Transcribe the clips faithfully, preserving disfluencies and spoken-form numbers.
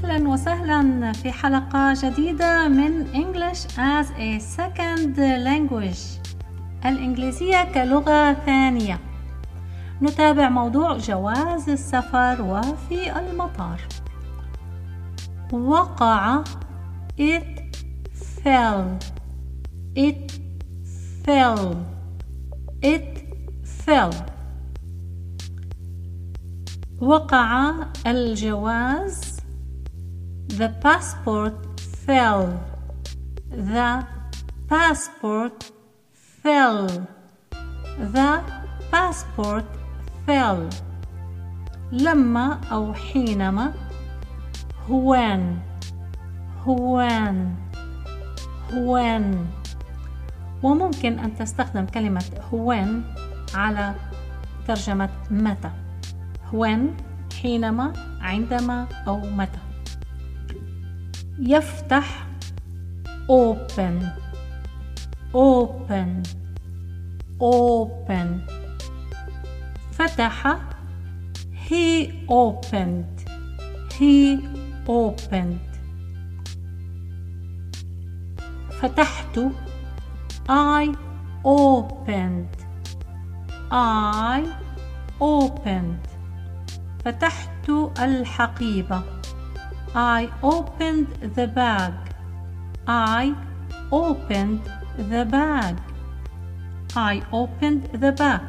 أهلا وسهلا في حلقة جديدة من English as a Second Language، الإنجليزية كلغة ثانية. نتابع موضوع جواز السفر وفي المطار. وقع it fell it fell it fell وقع الجواز. The passport fell. The passport fell. The passport fell. لما أو حينما. when when when وممكن أن تستخدم كلمة when على ترجمة متى. when حينما، عندما أو متى. يفتح open open open فتح he opened he opened فتحت I opened I opened فتحت الحقيبة. I opened the bag. I opened the bag. I opened the bag.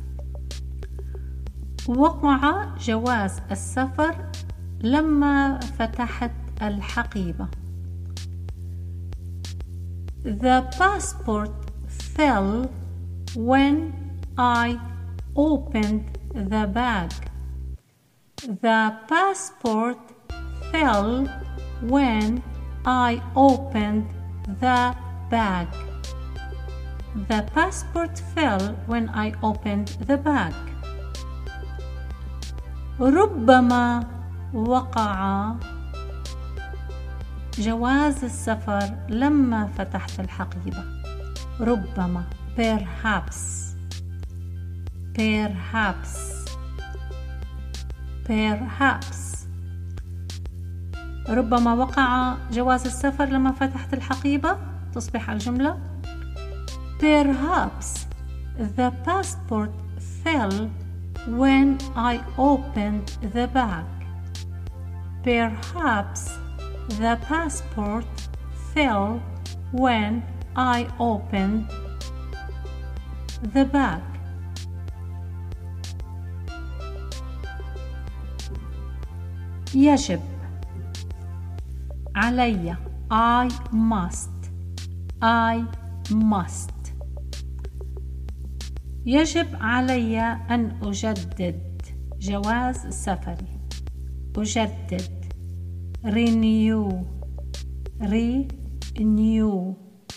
وقع جواز السفر لما فتحت الحقيبة. The passport fell when I opened the bag. The passport fell when I opened the bag. The passport fell when I opened the bag. ربما وقع جواز السفر لما فتحت الحقيبة. ربما perhaps perhaps perhaps ربما وقع جواز السفر لما فتحت الحقيبة. تصبح الجملة Perhaps the passport fell when I opened the bag. Perhaps the passport fell when I opened the bag. يجب علي I must I must يجب علي أن أجدد جواز سفري. أجدد renew renew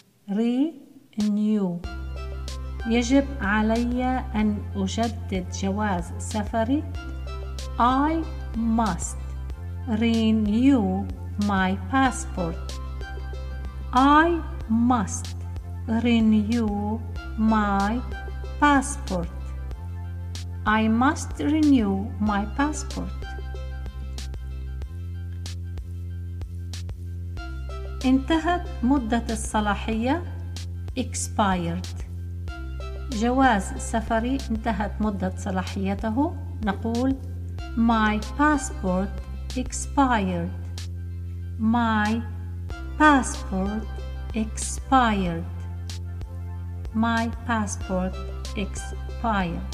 renew يجب علي أن أجدد جواز سفري. I must renew my passport. I must renew my passport. I must renew my passport. انتهت مدة الصلاحية. expired جواز سفري انتهت مدة صلاحيته. نقول My passport expired. My passport expired. My passport expired.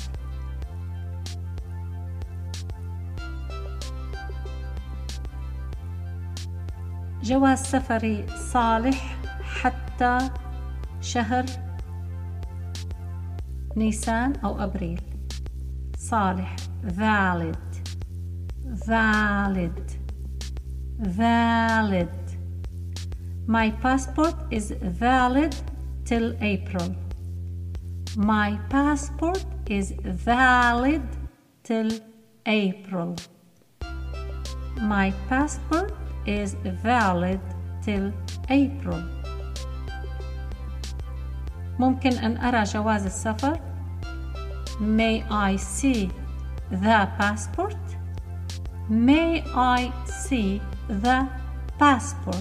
جواز سفري صالح حتى شهر نيسان أو أبريل. صالح valid valid valid My passport is valid till April. My passport is valid till April. My passport is valid till April. ممكن أن أرى جواز السفر. May I see the passport? May I see the passport.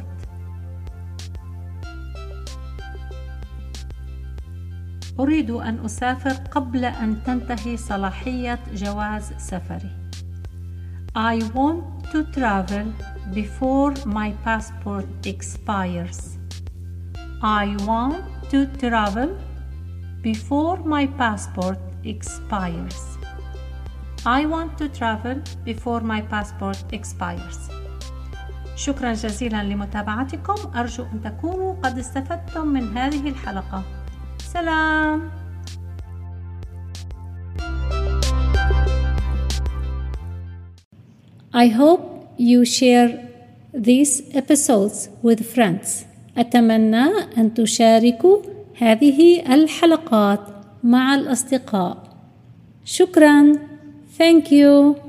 أريد أن أسافر قبل أن تنتهي صلاحية جواز سفري. I want to travel before my passport expires. I want to travel before my passport expires. I want to travel before my passport expires. شكرا جزيلا لمتابعتكم. أرجو أن تكونوا قد استفدتم من هذه الحلقة. سلام. I hope you share these episodes with friends. أتمنى أن تشاركوا هذه الحلقات مع الأصدقاء. شكرا. Thank you.